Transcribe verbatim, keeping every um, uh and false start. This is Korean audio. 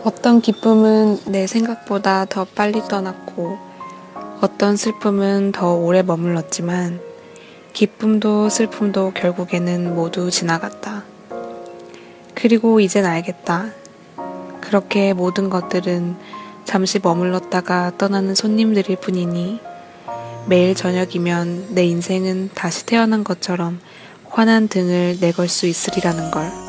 어떤 기쁨은 내 생각보다 더 빨리 떠났고 어떤 슬픔은 더 오래 머물렀지만 기쁨도 슬픔도 결국에는 모두 지나갔다. 그리고 이젠 알겠다. 그렇게 모든 것들은 잠시 머물렀다가 떠나는 손님들일 뿐이니 매일 저녁이면 내 인생은 다시 태어난 것처럼 환한 등을 내걸 수 있으리라는 걸.